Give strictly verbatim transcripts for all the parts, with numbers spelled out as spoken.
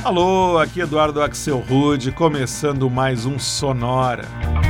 Alô, aqui Eduardo Axel Rude, começando mais um Sonora.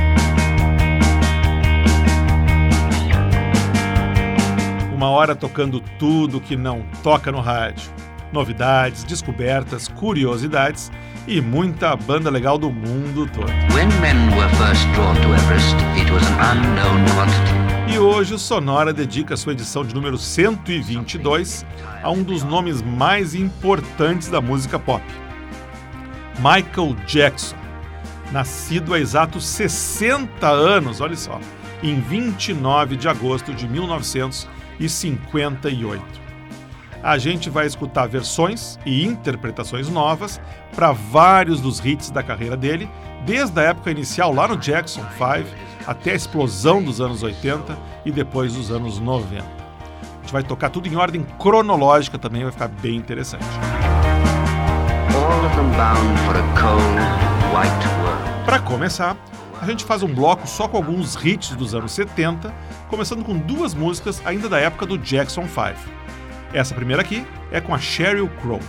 Uma hora tocando tudo que não toca no rádio. Novidades, descobertas, curiosidades e muita banda legal do mundo todo. When men were first drawn to Everest, it was an unknown quantity. E hoje o Sonora dedica sua edição de número cento e vinte e dois a um dos nomes mais importantes da música pop. Michael Jackson, nascido há exatos sessenta anos, olha só, em vinte e nove de agosto de mil novecentos e cinquenta e oito. A gente vai escutar versões e interpretações novas para vários dos hits da carreira dele, desde a época inicial lá no Jackson cinco até a explosão dos anos oitenta e depois dos anos noventa. A gente vai tocar tudo em ordem cronológica também, vai ficar bem interessante. Para começar, a gente faz um bloco só com alguns hits dos anos setenta, começando com duas músicas ainda da época do Jackson cinco. Essa primeira aqui é com a Sheryl Crow.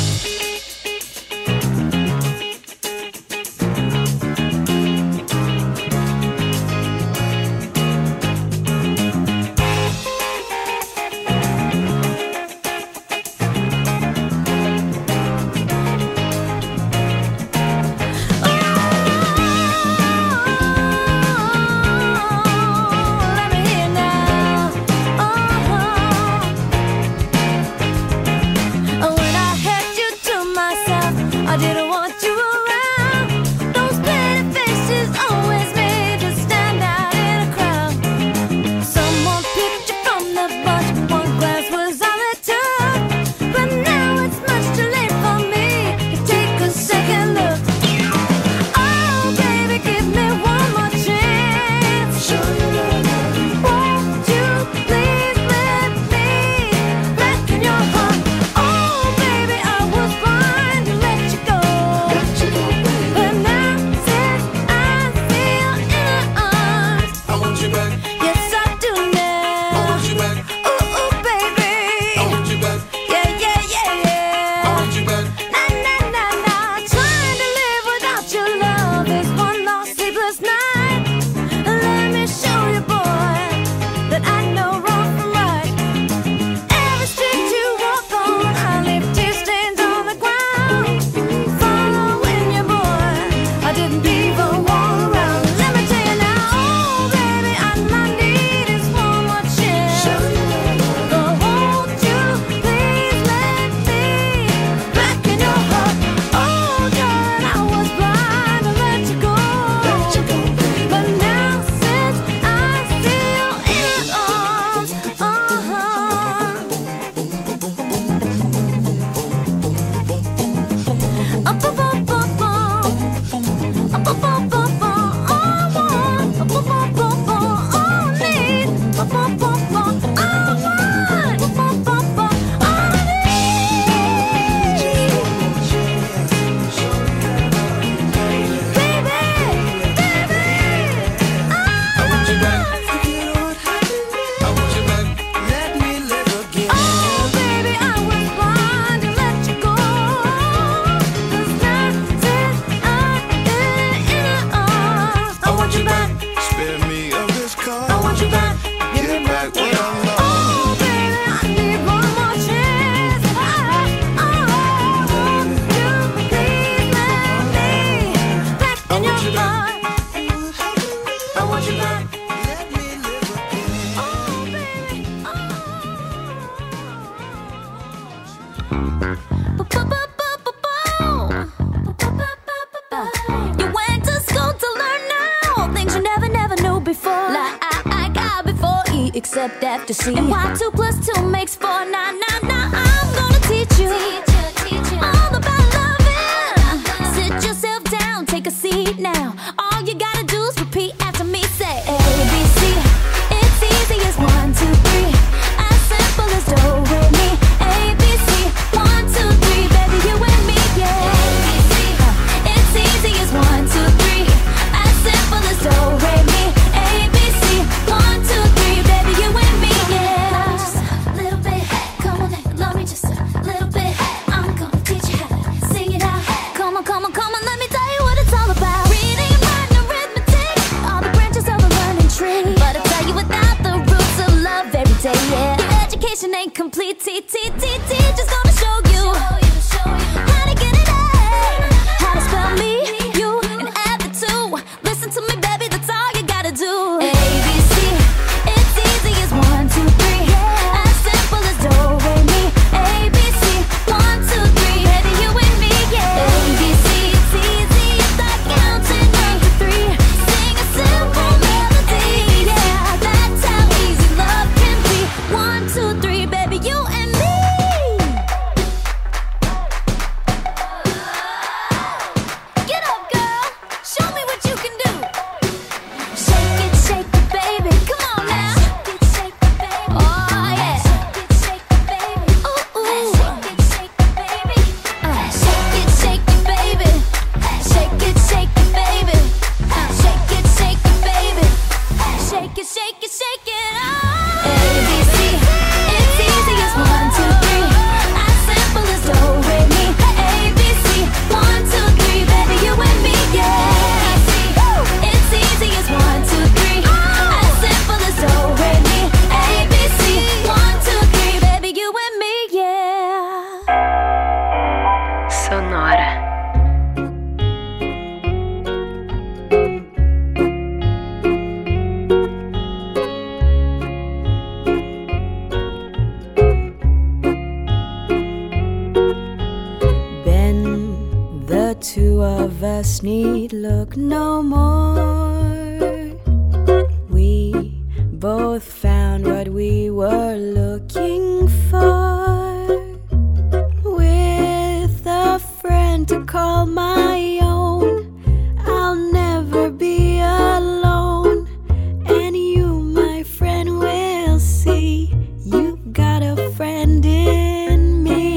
Except after C. And why two plus two makes four. Nah, nah, nah, I'm gonna teach you, teach you, teach you. All about loving. Love. Sit yourself down, take a seat now. All you gotta do is repeat after me. Say A, B, C. It's easy as one, two, three. As simple as do, re, mi. A, B, C. One, two, three, baby, you and me, yeah. A, B, C. Uh, it's easy as one, two, three. As simple as do, re, mi. A, B, C. One, two, three, baby, you and me, yeah. Just a little bit, come on, love me just a little bit. Education ain't complete. T T T Teacher's gonna show you how to get it A, how to spell me, you, and add the two. Listen to me, baby, that's all you gotta do. A, B, C, it's easy as one, two, three. As simple as do, re, mi. A, B, C, one, two, three. Baby, you and me, yeah. A, B, C, it's easy as like counting one, two, three. Sing a simple melody, yeah. That's how easy love can be. One, two, three, baby, you and me. Get up, girl. Show me what you can do. Shake it, shake it, baby. Come on now. Shake it, shake it, baby. Oh, yeah. Shake it, shake it, baby. Ooh, ooh. Shake it, shake it, baby. Uh, shake it, shake it, baby. Shake it, shake it, baby. Uh, shake it, shake it, baby. Shake it, shake it, shake it. Oh. A, B, C. It's easy as one, two, three. As simple as do, re, mi. A, B, C. One, two, three. Baby, you and me, yeah. It's easy as one, two, three. As simple as do, re, mi. A, B, C. One, two, three. Baby, you and me, yeah. Sonora. Ben, the two of us need look no more. We both found what we were looking for. With a friend to call my own, I'll never be alone. And you, my friend, will see you've got a friend in me.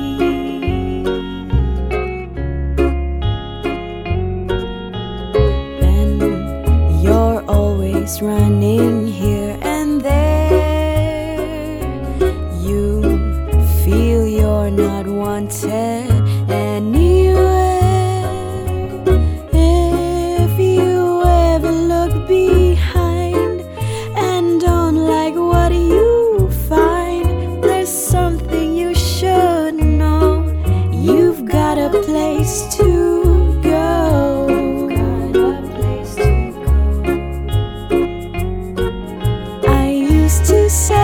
Then you're always running here and there. You feel you're not wanted anywhere. If you ever look behind and don't like what you find, there's something you should know. You've got a place to go. I used to say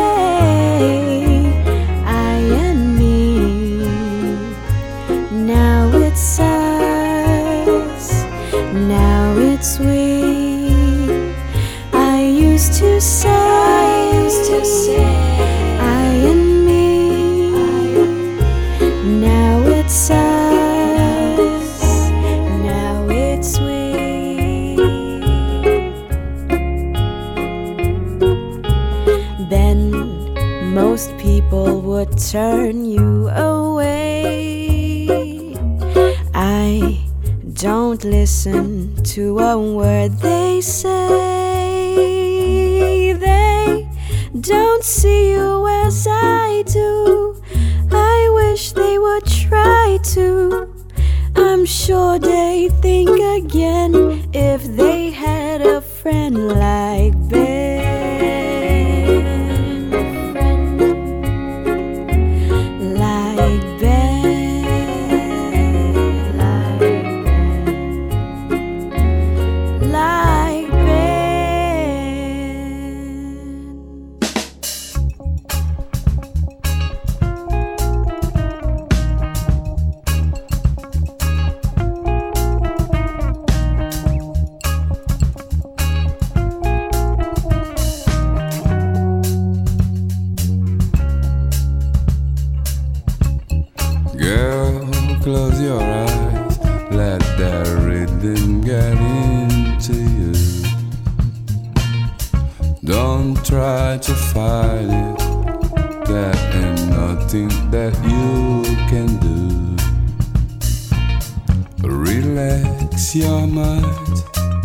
I and me. Now it's us. Now it's we. I used to say I used to say I and me. Now it's us. Now it's we. Then most people would turn you away. I don't listen to a word they say. They don't see you as I do. I wish they would try to. I'm sure they think again if they had a friend like Ben. Like Ben. Like Ben. Girl, close your eyes, let that rhythm get into you. Don't try to fight it, there ain't nothing that you can do. Relax your mind,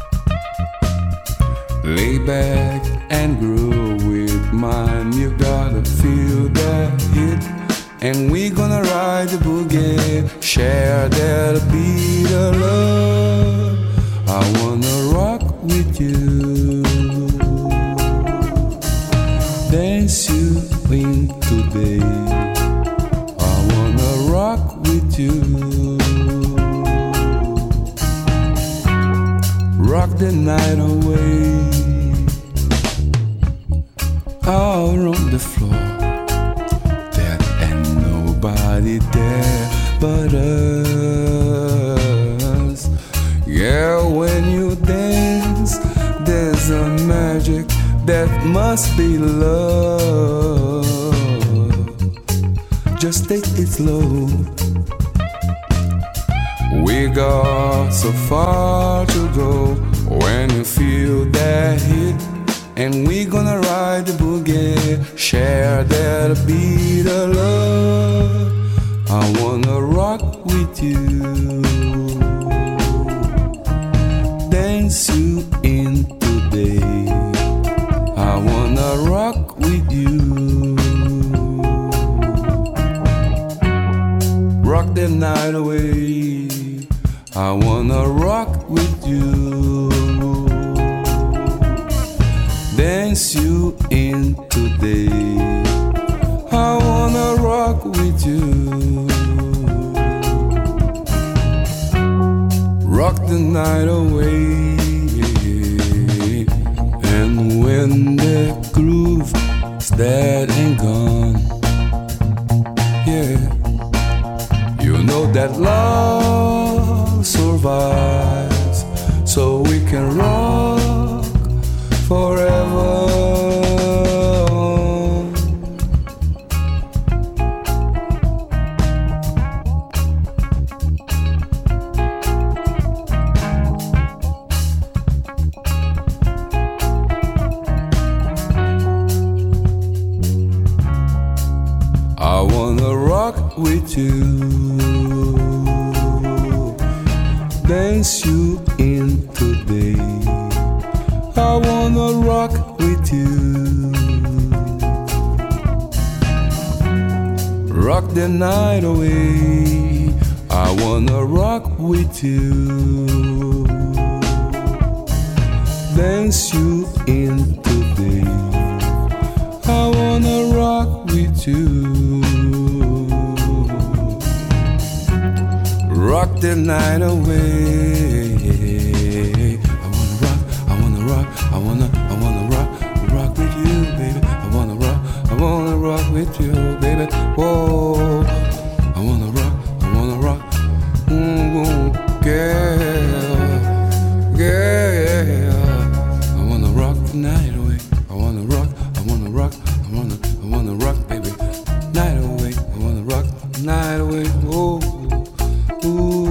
lay back and groove with mine. You gotta feel that hit, and we gonna ride the boogie, share that beat of love. I wanna rock with you. dance you in today. I wanna rock with you, rock the night away. Out on the floor, there ain't nobody there but us. Yeah, when you dance, there's a magic that must be love. Just take it slow. We got so far to go. When you feel that hit, and we gonna ride the boogie, share that beat of love. I wanna rock with you, dance you in today. I wanna rock with you, rock the night away. I wanna rock with you, dance you in today. I wanna rock with you, rock the night away. And when the groove's dead and gone, yeah, you know that love survives, so we can rock forever. I wanna rock with you, dance you in today. I wanna rock with you, rock the night away. I wanna rock with you, dance you in today. I wanna rock with you, rock the night away. I wanna, I wanna rock, rock with you, baby. I wanna rock, I wanna rock with you, baby. Whoa, I wanna rock, I wanna rock, mm-hmm. Girl, girl. I wanna rock the night away. I wanna rock, I wanna rock, I wanna, I wanna rock, baby. Night away, I wanna rock the night away. Whoa, ooh.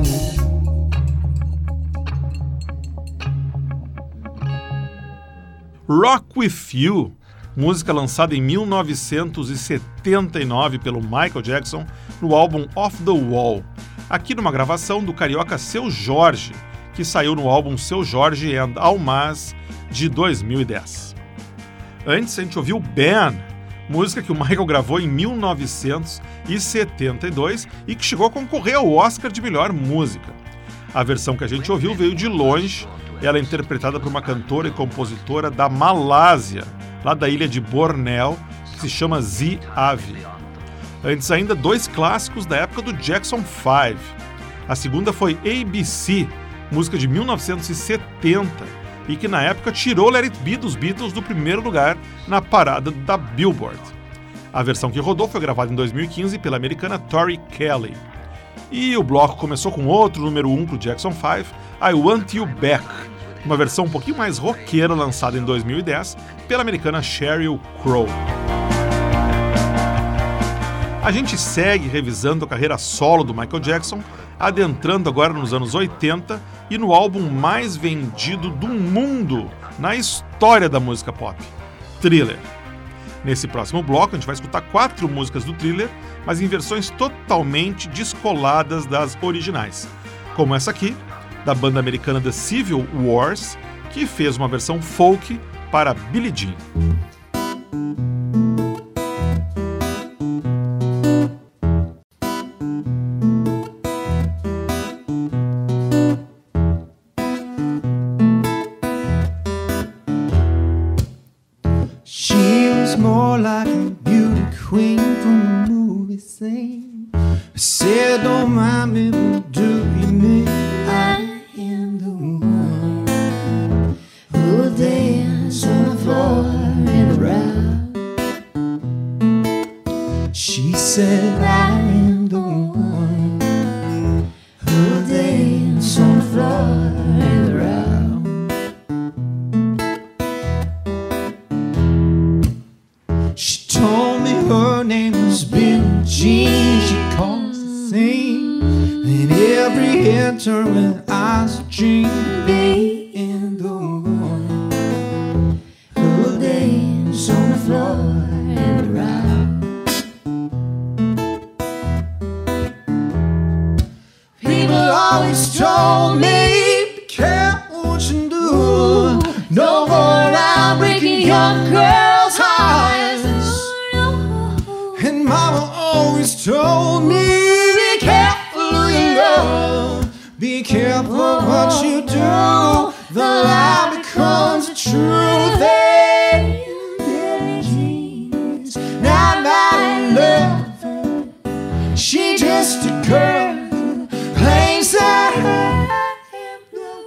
Rock With You, música lançada em mil novecentos e setenta e nove pelo Michael Jackson no álbum Off the Wall, aqui numa gravação do carioca Seu Jorge, que saiu no álbum Seu Jorge and Almaz de dois mil e dez. Antes a gente ouviu Ben, música que o Michael gravou em mil novecentos e setenta e dois e que chegou a concorrer ao Oscar de melhor música. A versão que a gente ouviu veio de longe. Ela é interpretada por uma cantora e compositora da Malásia, lá da ilha de Bornéu, que se chama Z Avi. Antes ainda, dois clássicos da época do Jackson five. A segunda foi A B C, música de mil novecentos e setenta, e que na época tirou Let It Be dos Beatles do primeiro lugar na parada da Billboard. A versão que rodou foi gravada em dois mil e quinze pela americana Tori Kelly. E o bloco começou com outro número um pro Jackson five, I Want You Back, uma versão um pouquinho mais roqueira lançada em dois mil e dez pela americana Sheryl Crow. A gente segue revisando a carreira solo do Michael Jackson, adentrando agora nos anos oitenta e no álbum mais vendido do mundo na história da música pop, Thriller. Nesse próximo bloco a gente vai escutar quatro músicas do Thriller, mas em versões totalmente descoladas das originais, como essa aqui, da banda americana The Civil Wars, que fez uma versão folk para Billie Jean. She was was more like a beauty queen from the movie scene. I said, don't mind me, but do you mean I am the one who will dance on the floor in the round? She said, I am the one who will dance on the floor in the round. She told me her name was Billie Jean. She caused the scene, and every head turned when I was dreaming to be in the one who will dance on the floor and around. People always told me, be careful what you do. Don't go around breaking young girls' hearts. And Mama always told me, be careful who you love, be careful what you do. The lie becomes the truth. Hey, Billie Jean's not my lover. She just a girl who claims that I am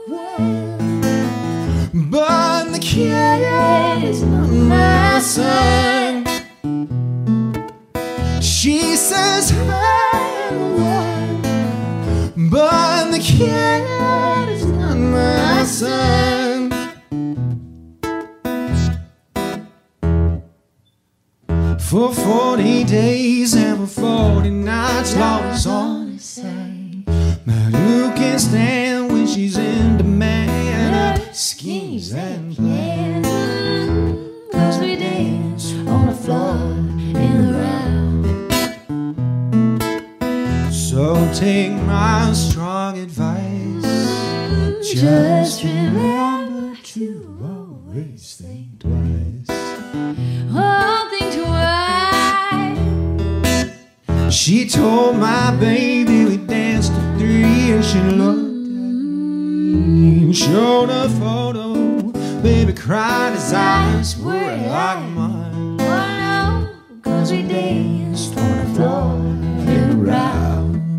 the one, but the kid is not my son. She says I am the one, but the kid is not my son. For forty days and for forty nights, Lord was on his side. But who can stand when she's in demand? Her schemes and plans, 'cause we dance on the floor in the round. So take my strong advice, just remember to always think twice. Oh, think twice. She told my baby we danced to three, and she looked at me, showed a photo. Baby cried, his eyes were like mine. Oh no, 'cause we danced on the floor and around.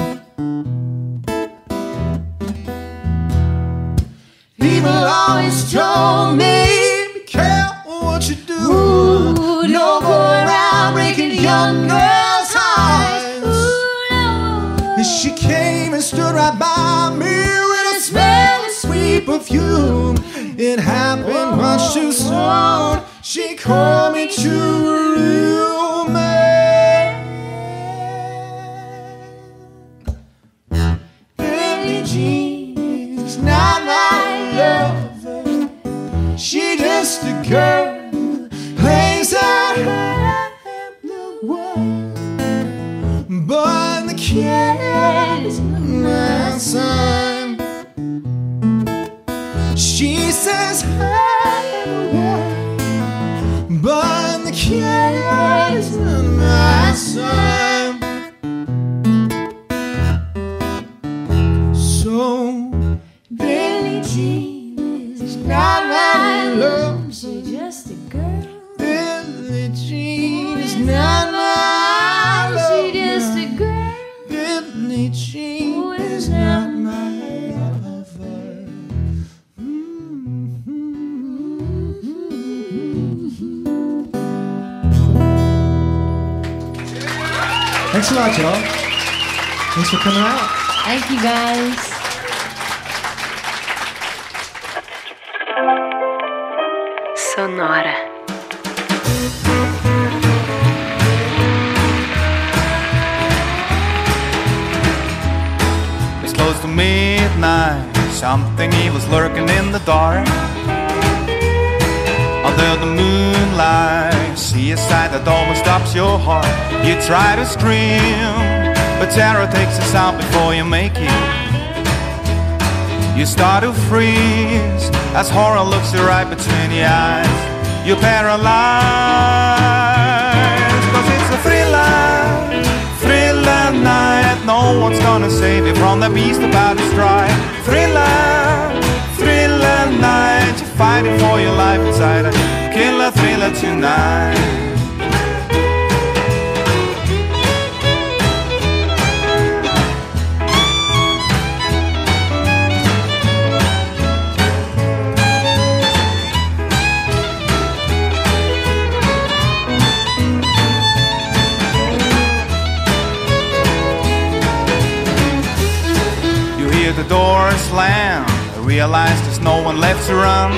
People always told me, be careful what you do. Ooh, don't go around breaking young girls' hearts. Ooh, no. And she came and stood right by me with a smell of sweet perfume. It happened much too soon. She called me to her room. Billie Jean is not my lover. She just a girl who claims that I am the one, but the kid is not my son. She says I am the one, but the kid is not my son. So Billie Jean is not my love. She's just a girl. Billie Jean is not my love. She's just a girl. Billie Jean is not my lover. Thanks a lot, y'all. Thanks for coming out. Thank you, guys. Sonora. It's close to midnight. Something evil's lurking in the dark. Under the moonlight, see a sight that almost stops your heart. You try to scream, but terror takes the sound before you make it. You start to freeze as horror looks you right between your eyes. You're paralyzed, cause it's a thriller, thriller night. No one's gonna save you from the beast about to strike. Thriller, thriller night. You're fighting for your life inside a killer thriller tonight. forest land, realize there's no one left to run.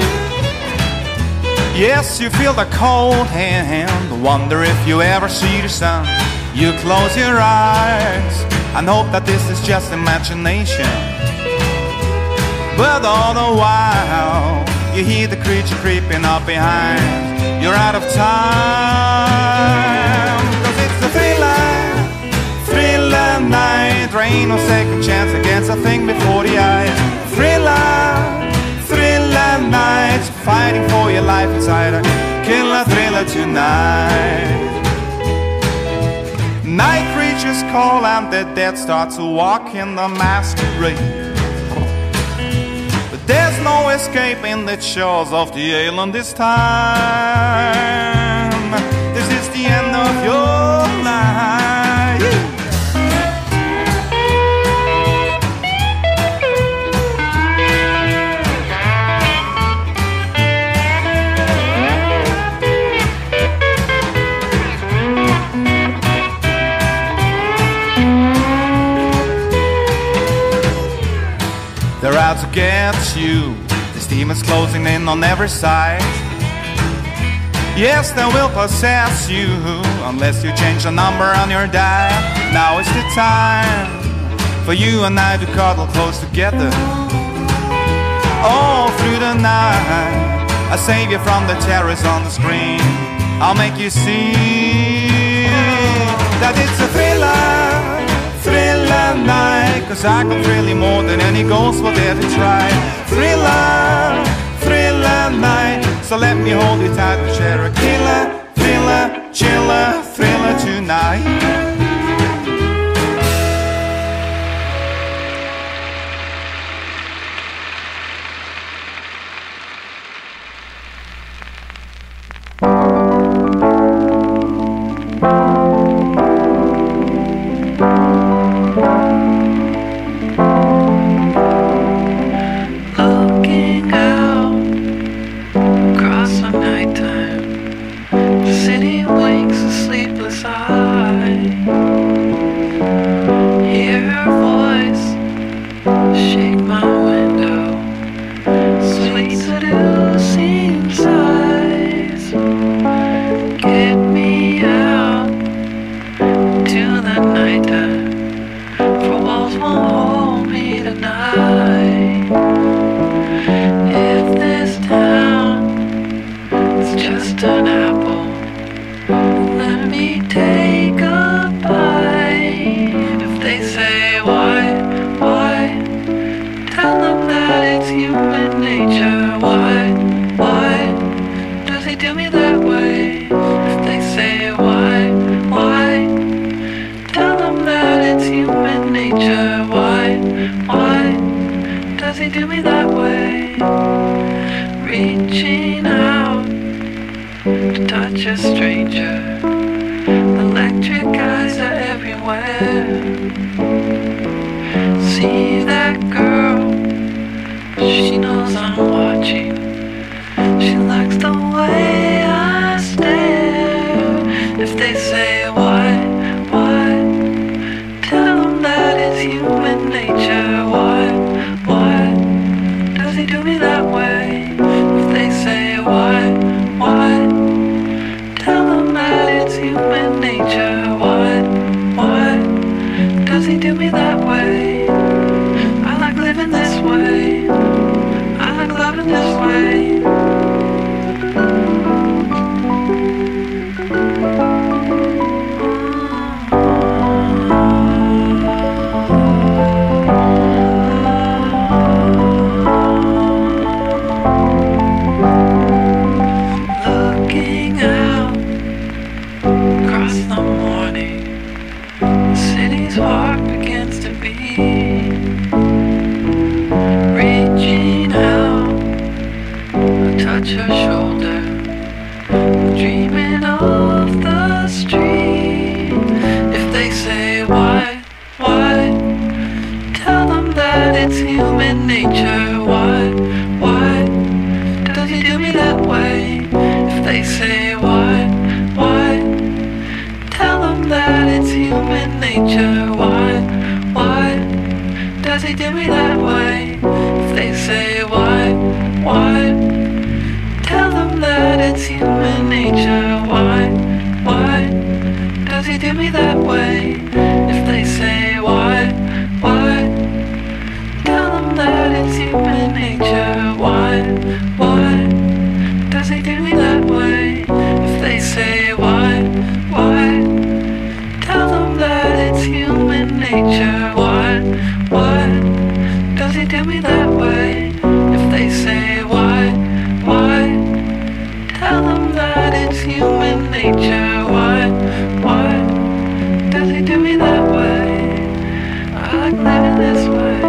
Yes, you feel the cold hand, wonder if you ever see the sun. You close your eyes and hope that this is just imagination. But all the while, you hear the creature creeping up behind. You're out of time, cause it's a thriller, thriller night. There ain't no second chance against a thing before the eyes. Thriller, thriller night, fighting for your life inside a killer thriller tonight. Night creatures call and the dead start to walk in the masquerade. But there's no escaping the shores of the island this time. This is the end of your life. They're out to get you. This demon's closing in on every side. Yes, they will possess you unless you change the number on your die. Now is the time for you and I to cuddle close together all through the night. I'll save you from the terrors on the screen. I'll make you see that it's a thriller, thriller night, cause I can thrill you more than any ghost will dare to try. Thriller, thriller night, so let me hold you tight and share a killer, thriller, chiller, thriller tonight. Nature, why, why does he do me that way? say why, why, tell them that it's human nature. Why, why, does he do me that way? If they say why, why, tell them that it's human nature. Why, why, does he do me that way? If they say why, why, tell them that it's human nature. Why, why, does he do me that way? If they say why, why, tell them that it's human nature. Why, why, does he do me that way? I like living this way.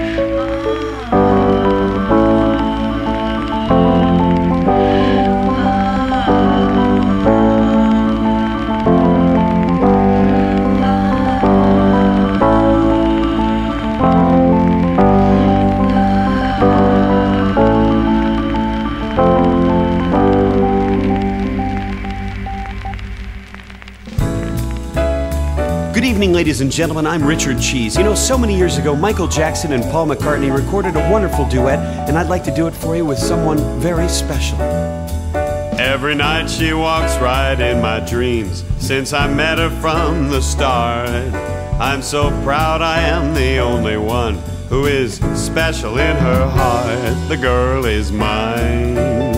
Good evening, ladies and gentlemen. I'm Richard Cheese. You know, so many years ago, Michael Jackson and Paul McCartney recorded a wonderful duet, and I'd like to do it for you with someone very special. Every night she walks right in my dreams, since I met her from the start. I'm so proud I am the only one who is special in her heart. The girl is mine.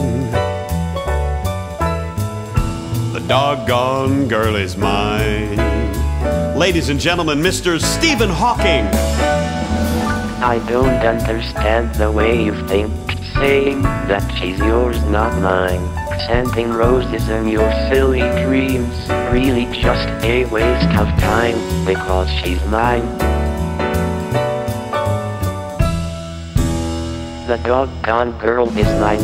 The doggone girl is mine. Ladies and gentlemen, Mister Stephen Hawking. I don't understand the way you think, saying that she's yours, not mine. Sending roses and your silly dreams, really just a waste of time, because she's mine. The doggone girl is mine.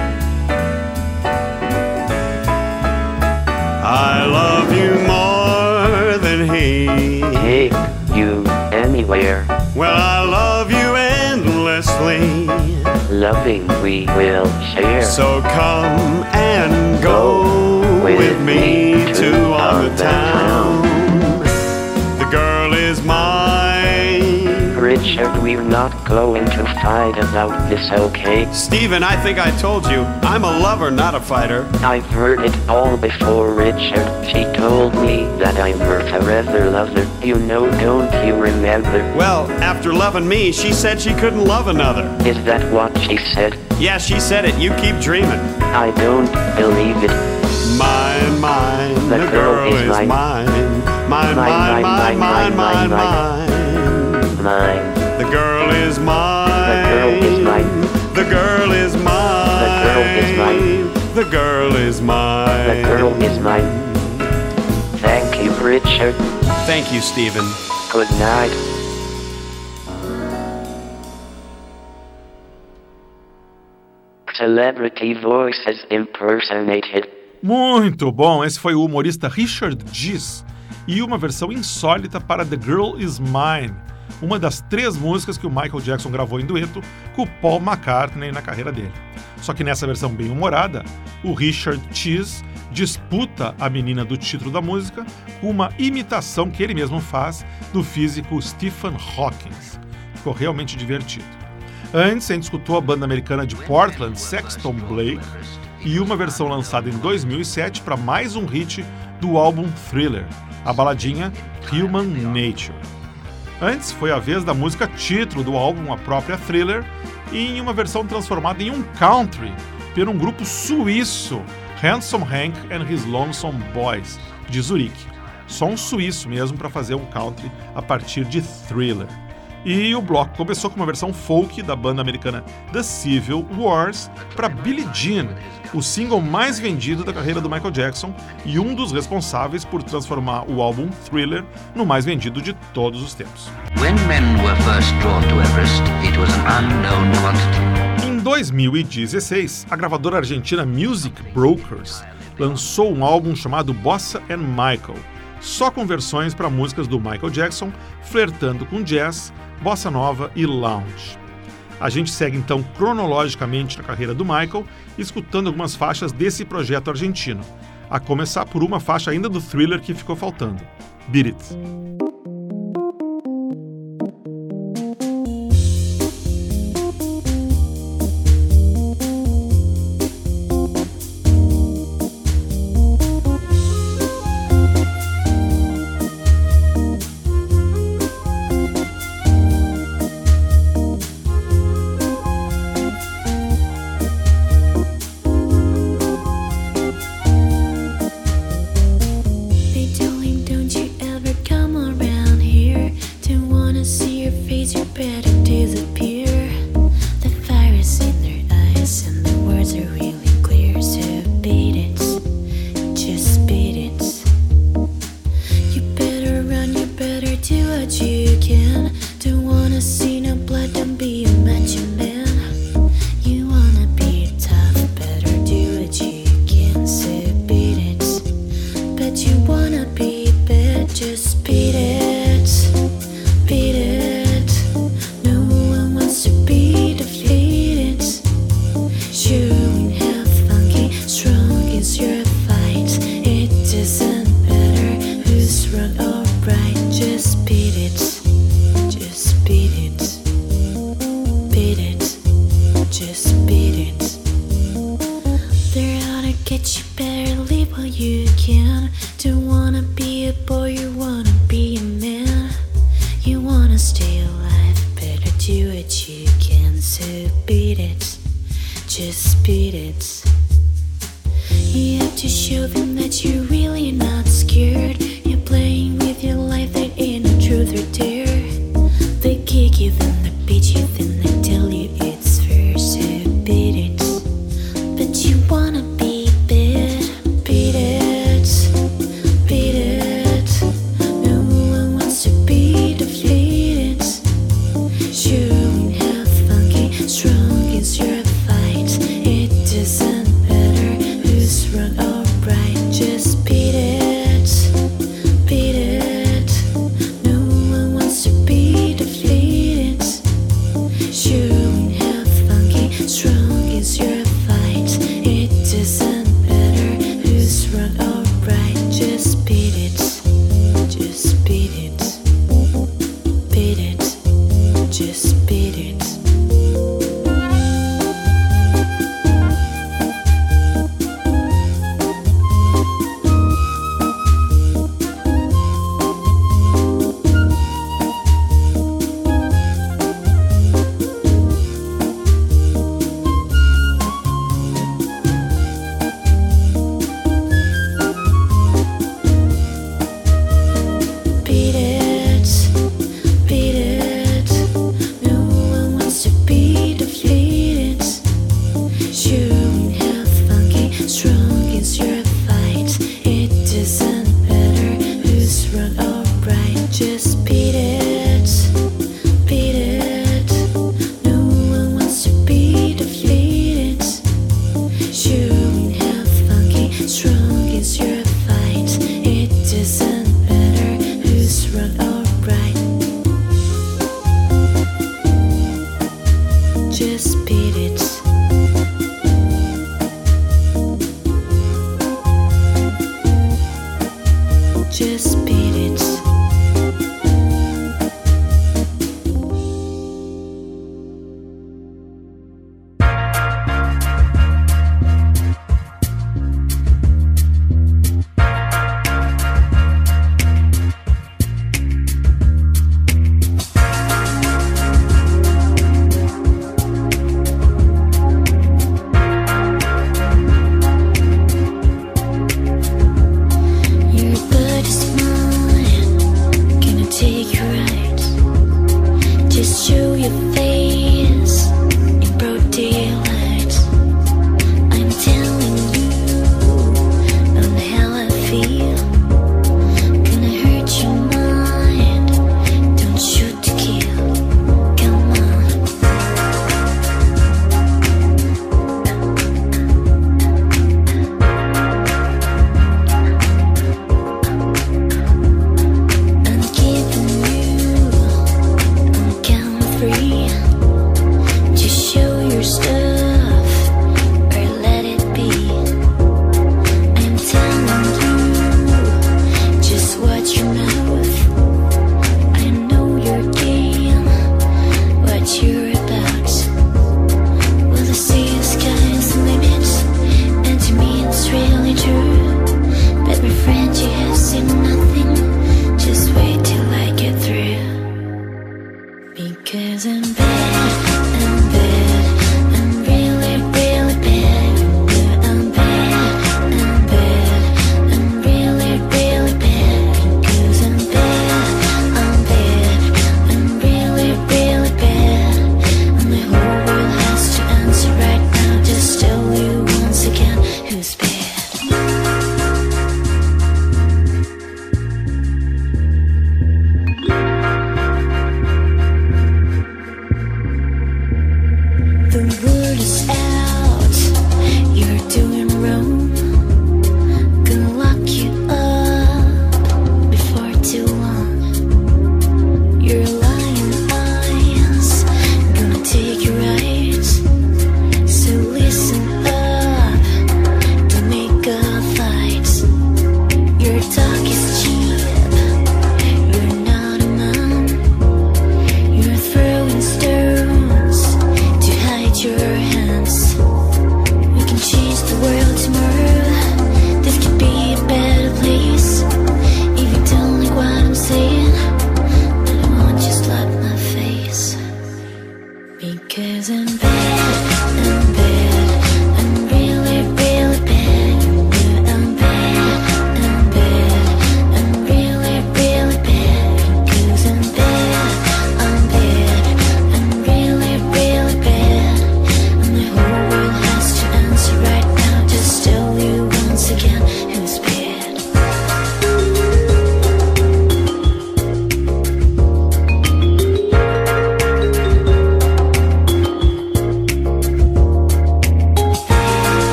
I love you more than he. Take you anywhere. Well, I love you endlessly. Loving we will share. So come and go, go with, with me, me to on the town. town. The girl is mine. Richard, we're not going to fight about this, okay? Stephen, I think I told you, I'm a lover, not a fighter. I've heard it all before, Richard. She told me that I'm her forever lover. You know, don't you remember? Well, after loving me, she said she couldn't love another. Is that what she said? Yeah, she said it. You keep dreaming. I don't believe it. Mine, mine, the, the girl, girl is, is mine. Mine, mine, mine, mine, mine, mine, mine. Mine. The girl is mine. The girl is mine. The girl is mine. The girl is mine. The girl is mine. The girl is mine. Thank you, Richard. Thank you, Stephen. Good night. Celebrity voices impersonated. Muito bom, esse foi o humorista Richard Cheese e uma versão insólita para The Girl Is Mine, uma das três músicas que o Michael Jackson gravou em dueto com o Paul McCartney na carreira dele. Só que nessa versão bem humorada, o Richard Cheese disputa a menina do título da música com uma imitação que ele mesmo faz do físico Stephen Hawking. Ficou realmente divertido. Antes, a gente escutou a banda americana de Portland, Sexton Blake, e uma versão lançada em dois mil e sete para mais um hit do álbum Thriller, a baladinha Human Nature. Antes, foi a vez da música título do álbum, a própria Thriller, em uma versão transformada em um country por um grupo suíço, Handsome Hank and His Lonesome Boys, de Zurique. Só um suíço mesmo para fazer um country a partir de Thriller. E o bloco começou com uma versão folk da banda americana The Civil Wars para Billie Jean, o single mais vendido da carreira do Michael Jackson e um dos responsáveis por transformar o álbum Thriller no mais vendido de todos os tempos. When men were first drawn to Everest, it was an unknown quantity. Em dois mil e dezesseis, a gravadora argentina Music Brokers lançou um álbum chamado Bossa and Michael, só com versões para músicas do Michael Jackson, flertando com jazz, bossa nova e lounge. A gente segue então cronologicamente na carreira do Michael, escutando algumas faixas desse projeto argentino, a começar por uma faixa ainda do Thriller que ficou faltando, Beat It. Just beat it, beat it. No one wants to be defeated. Showing how funky, strong is your fight. It doesn't matter who's wrong or right. Just beat it, just beat it, beat it, just beat it. They're out to get you, better leave while you can. Don't wanna be a boy, you wanna be a man. You wanna stay alive, better do what you can. So beat it, just beat it. You have to show them that you're really not scared. You're playing with your life, there ain't no truth or dare. They kick you, then they beat you, then they tell you it's fair. So beat it, but you wanna be bad. Beat it, beat it. No one wants to be defeated. Showing how funky, strong is your fight. It doesn't matter who's wrong or right. Just beat it, beat it. No one wants to be defeated. Showing how funky, strong is your fight. It doesn't matter who's wrong or right. Just beat it, just beat it, beat it, just beat it. Beat it, beat it. No one wants to be defeated. Showing how funky, strong is your fight. It doesn't matter who's wrong or right. Just beat it, beat it. No one wants to be defeated. Showing how funky, strong is your fight. It doesn't matter who's wrong or right. Just beat it. Just beat it. Your butt is mine.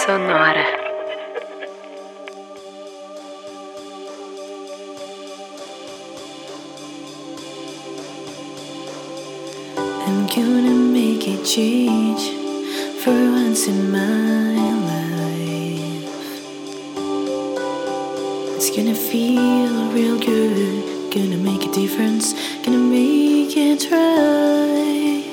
Sonora. I'm gonna make a change for once in my life. It's gonna feel real good, gonna make a difference, gonna make it right.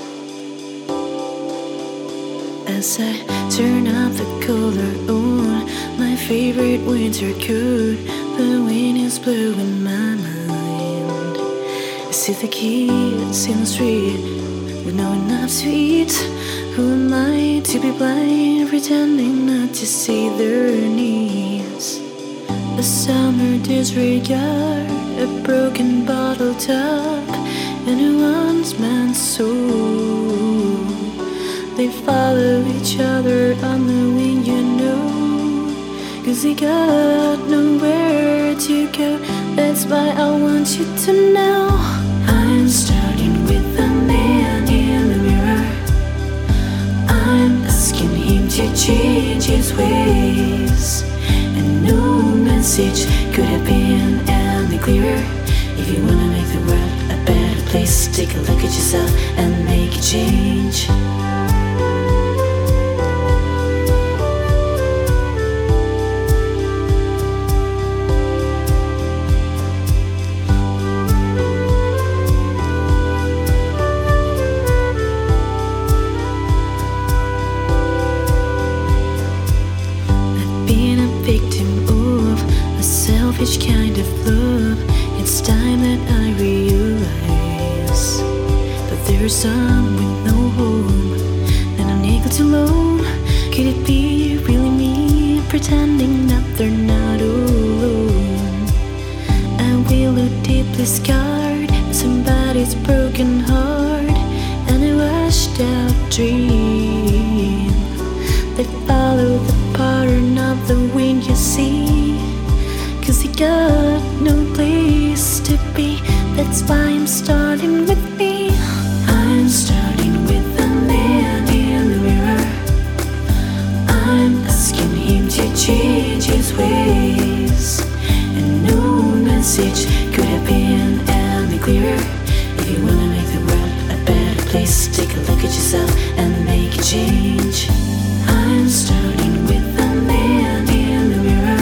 As I turn up the color on my favorite winter coat, the wind is blowing my mind. I see the kids in the street with no enough to eat. Who am I to be blind, pretending not to see their needs? A summer disregard, a broken bottle top, and a once man's soul. They follow each other on the wind, you know, 'cause they got nowhere to go. That's why I want you to know I'm starting with the man in the mirror. I'm asking him to change his ways, and no message could have been any clearer. If you wanna make the world a better place, take a look at yourself and make a change. Selfish kind of love, it's time that I realize that there's some with no home, that I'm able to alone. Could it be really me, pretending that they're not alone? I will look deeply scarred by somebody's broken heart, and a washed out dream that follow the pattern of the wind you see. 'Cause he got no place to be. That's why I'm starting with me. I'm starting with the man in the mirror. I'm asking him to change his ways, and no message could have been any clearer. If you wanna make the world a better place, take a look at yourself and make a change. I'm starting with the man in the mirror.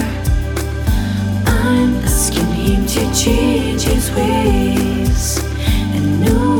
I'm asking him to change his ways, and no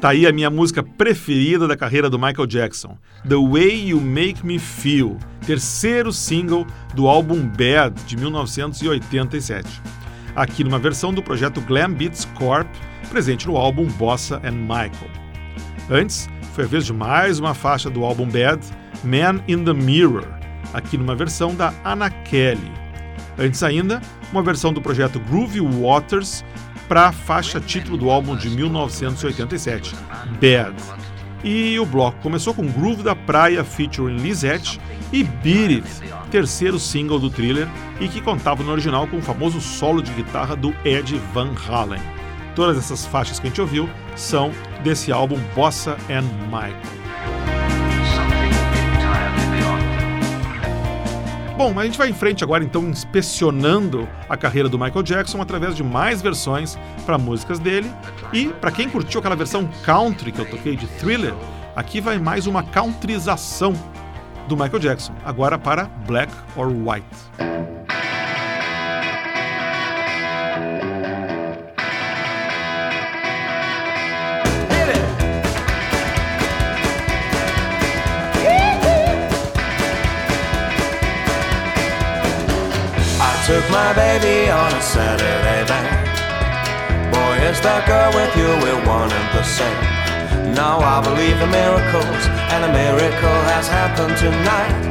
Tá aí a minha música preferida da carreira do Michael Jackson, The Way You Make Me Feel, terceiro single do álbum Bad, de mil novecentos e oitenta e sete. Aqui numa versão do projeto Glam Beats Corp, presente no álbum Bossa and Michael. Antes, foi a vez de mais uma faixa do álbum Bad, Man in the Mirror, aqui numa versão da Anna Kelly. Antes ainda, uma versão do projeto Groovy Waters para a faixa título do álbum de mil novecentos e oitenta e sete, Bad. E o bloco começou com Groove da Praia featuring Lizette e Beat It, terceiro single do Thriller e que contava no original com o famoso solo de guitarra do Ed Van Halen. Todas essas faixas que a gente ouviu são desse álbum Bossa and Michael. Bom, a gente vai em frente agora então inspecionando a carreira do Michael Jackson através de mais versões para músicas dele. E para quem curtiu aquela versão country que eu toquei de Thriller, aqui vai mais uma countryização do Michael Jackson, agora para Black or White. Took my baby on a Saturday night. Boy, is that girl with you, we're one and the same. Now I believe in miracles, and a miracle has happened tonight.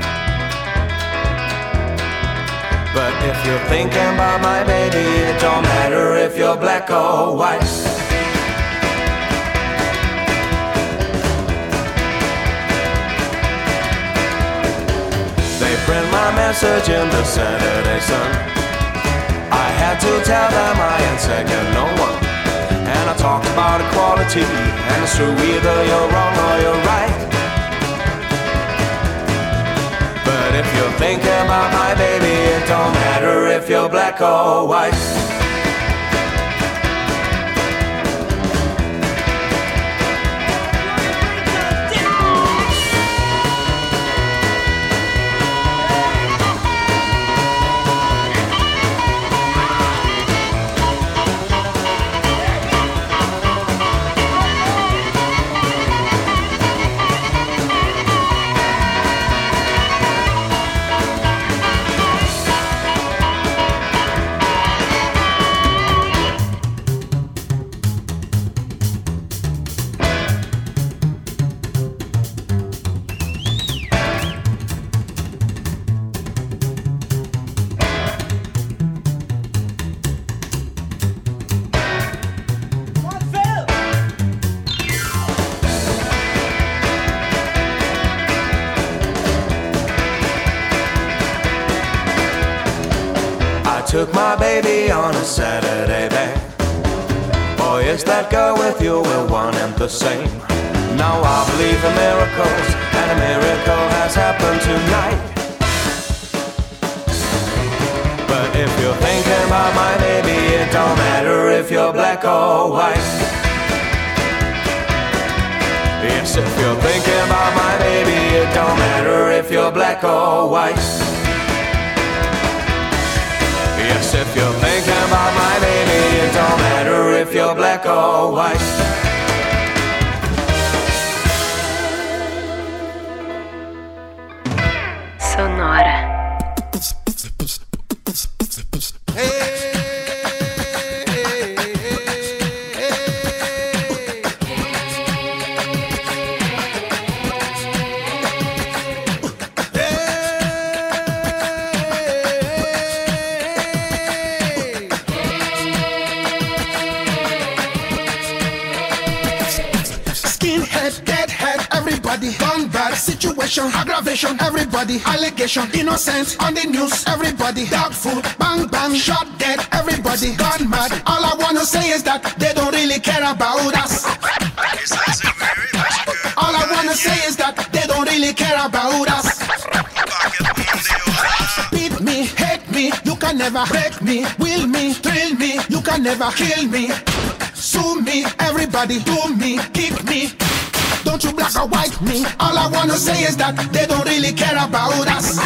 But if you're thinking about my baby, it don't matter if you're black or white. They print my message in the Saturday Sun. I had to tell them I ain't second no one. And I talked about equality, and it's true either you're wrong or you're right. But if you're thinking about my baby, it don't matter if you're black or white. Took my baby on a Saturday back. Boy, is that girl with you, we're one and the same. Now I believe in miracles, and a miracle has happened tonight. But if you're thinking about my baby, it don't matter if you're black or white. Yes, if you're thinking about my baby, it don't matter if you're black or white. Yes, if you're thinking about my baby, it don't matter if you're black or white. Sonora. Situation, aggravation, everybody, allegation, innocence on the news, everybody, doubtful, bang bang, shot dead, everybody, gone mad. All I wanna say is that they don't really care about us. All I wanna say is that they don't really care about us. Beat me, hate me, you can never break me, will me, thrill me, you can never kill me. Sue me, everybody do me, kick me. Don't you black or white me. All I wanna say is that they don't really care about us.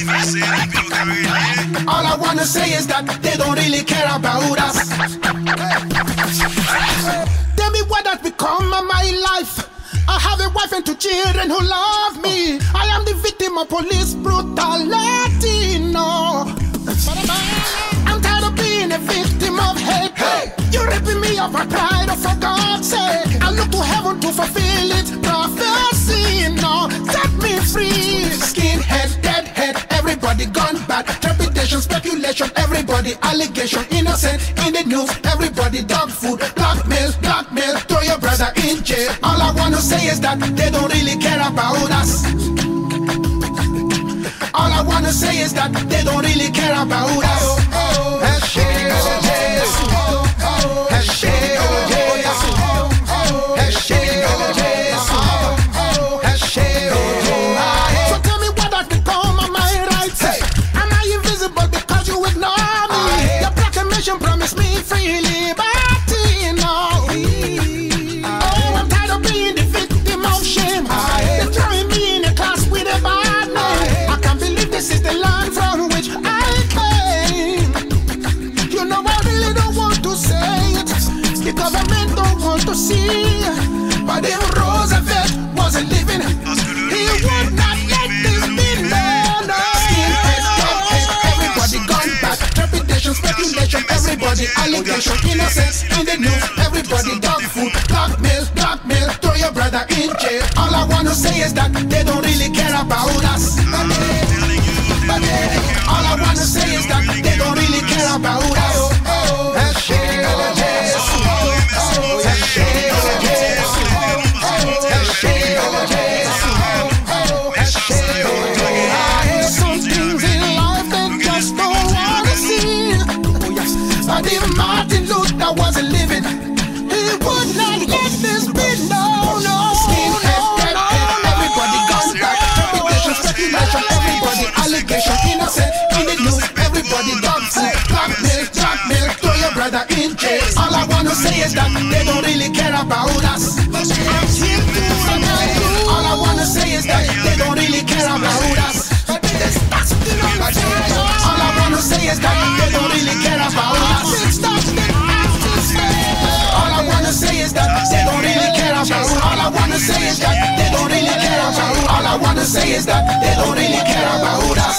All I wanna say is that they don't really care about us. Tell me what has become of my life. I have a wife and two children who love me. I am the victim of police brutality. No, I'm tired of being a victim of hate. Hey. You're ripping me of my pride, oh, for God's sake. I look to heaven to fulfill its prophecy. No, set me free. Skinhead, deadhead, everybody gone bad. Trepidation, speculation, everybody allegation. Innocent in the news, everybody dog food. Blackmail, blackmail, throw your brother in jail. All I wanna say is that they don't really care about us. All I wanna say is that they don't really care about us. So tell me what has become of my rights. Am I invisible because you ignore me? Your proclamation promised me free liberty. No. Oh, I'm tired of being the victim of shame. They're throwing me in a class with a bad name. I can't believe this is the land from which I came. You know I really don't want to say it. The government don't want to see. But if Roosevelt wasn't living, he would not let this be known. Skinhead, deadhead, everybody gone back. Trepidation, speculation, everybody allegation. Innocence in the news, everybody dog food. Blackmail, blackmail, throw your brother in jail. All I wanna say is that they don't really care about us. But they, but they, all I wanna say is that they don't really care about us. Some things in life they just don't wanna see. But if Martin Luther wasn't living, he would not let this be known. No, skinhead, deadhead, everybody gone back. Trepidation, speculation, everybody allegation. Innocent in the news, everybody dog food. Blackmail, blackmail, throw your brother in jail. All I wanna say is that they don't really care about us. All I wanna say is that they don't really care about us. All I wanna say is that they don't really care about us. All I wanna say is that they don't really care about us. All I wanna say is that they don't really care about us. All I wanna say is that they don't really care about us.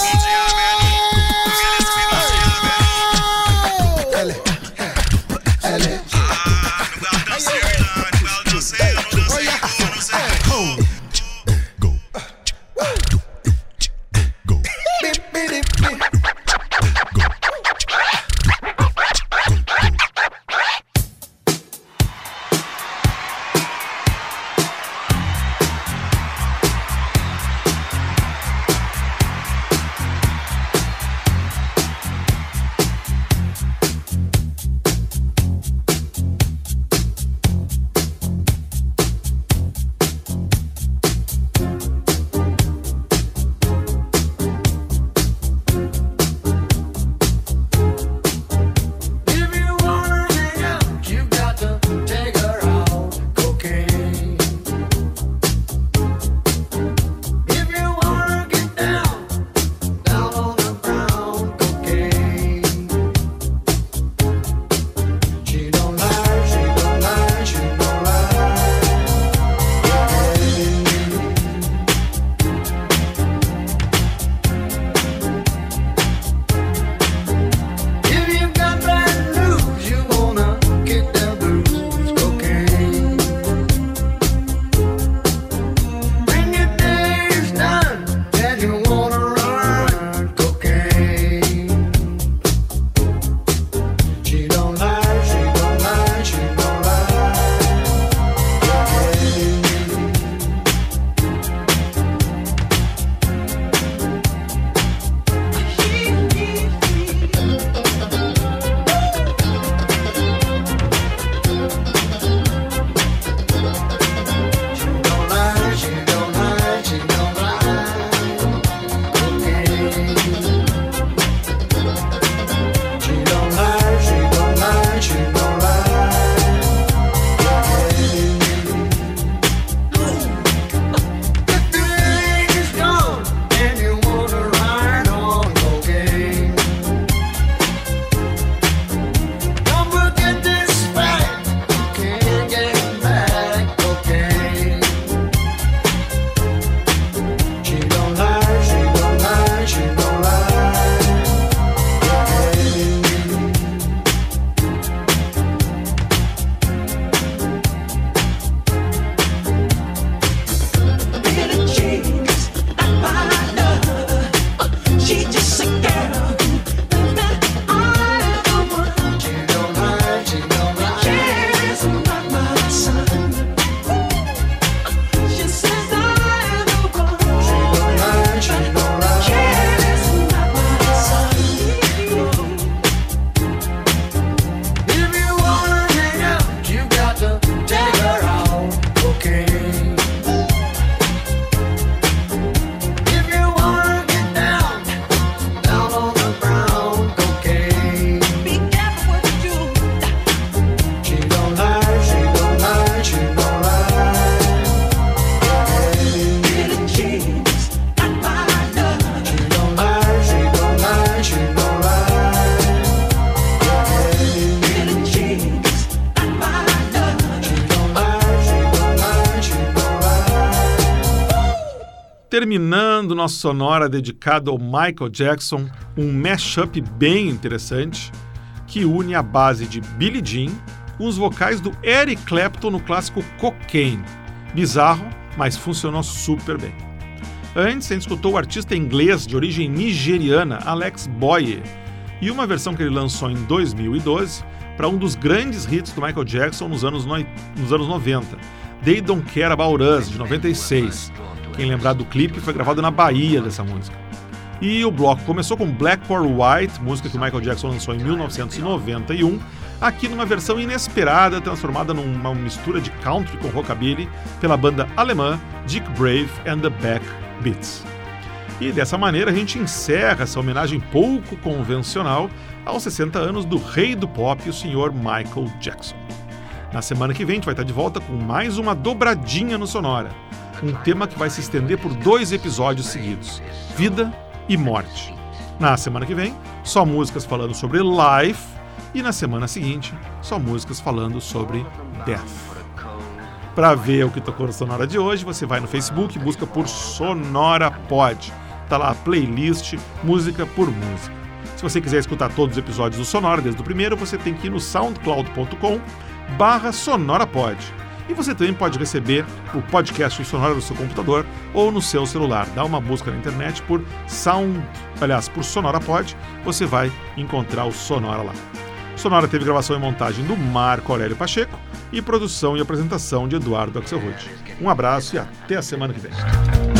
terminando nosso Sonora dedicado ao Michael Jackson, um mashup bem interessante que une a base de Billie Jean com os vocais do Eric Clapton no clássico Cocaine. Bizarro, mas funcionou super bem. Antes, a gente escutou o artista inglês de origem nigeriana Alex Boye e uma versão que ele lançou em dois mil e doze para um dos grandes hits do Michael Jackson nos anos, no... nos anos noventa, They Don't Care About Us, de noventa e seis. Quem lembrar do clipe, foi gravado na Bahia dessa música. E o bloco começou com Black or White, música que o Michael Jackson lançou em mil novecentos e noventa e um, aqui numa versão inesperada, transformada numa mistura de country com rockabilly pela banda alemã Dick Brave and the Back Beats. E dessa maneira a gente encerra essa homenagem pouco convencional aos sessenta anos do rei do pop, o senhor Michael Jackson. Na semana que vem a gente vai estar de volta com mais uma dobradinha no Sonora, um tema que vai se estender por dois episódios seguidos, vida e morte. Na semana que vem, só músicas falando sobre life, e na semana seguinte, só músicas falando sobre death. Para ver o que tocou no Sonora de hoje, você vai no Facebook e busca por Sonora Pod. Tá lá a playlist, música por música. Se você quiser escutar todos os episódios do Sonora, desde o primeiro, você tem que ir no soundcloud ponto com barra sonorapod. E você também pode receber o podcast do Sonora no seu computador ou no seu celular. Dá uma busca na internet por Sound, aliás, por SonoraPod, você vai encontrar o Sonora lá. Sonora teve gravação e montagem do Marco Aurélio Pacheco e produção e apresentação de Eduardo Axelrod. Um abraço e até a semana que vem.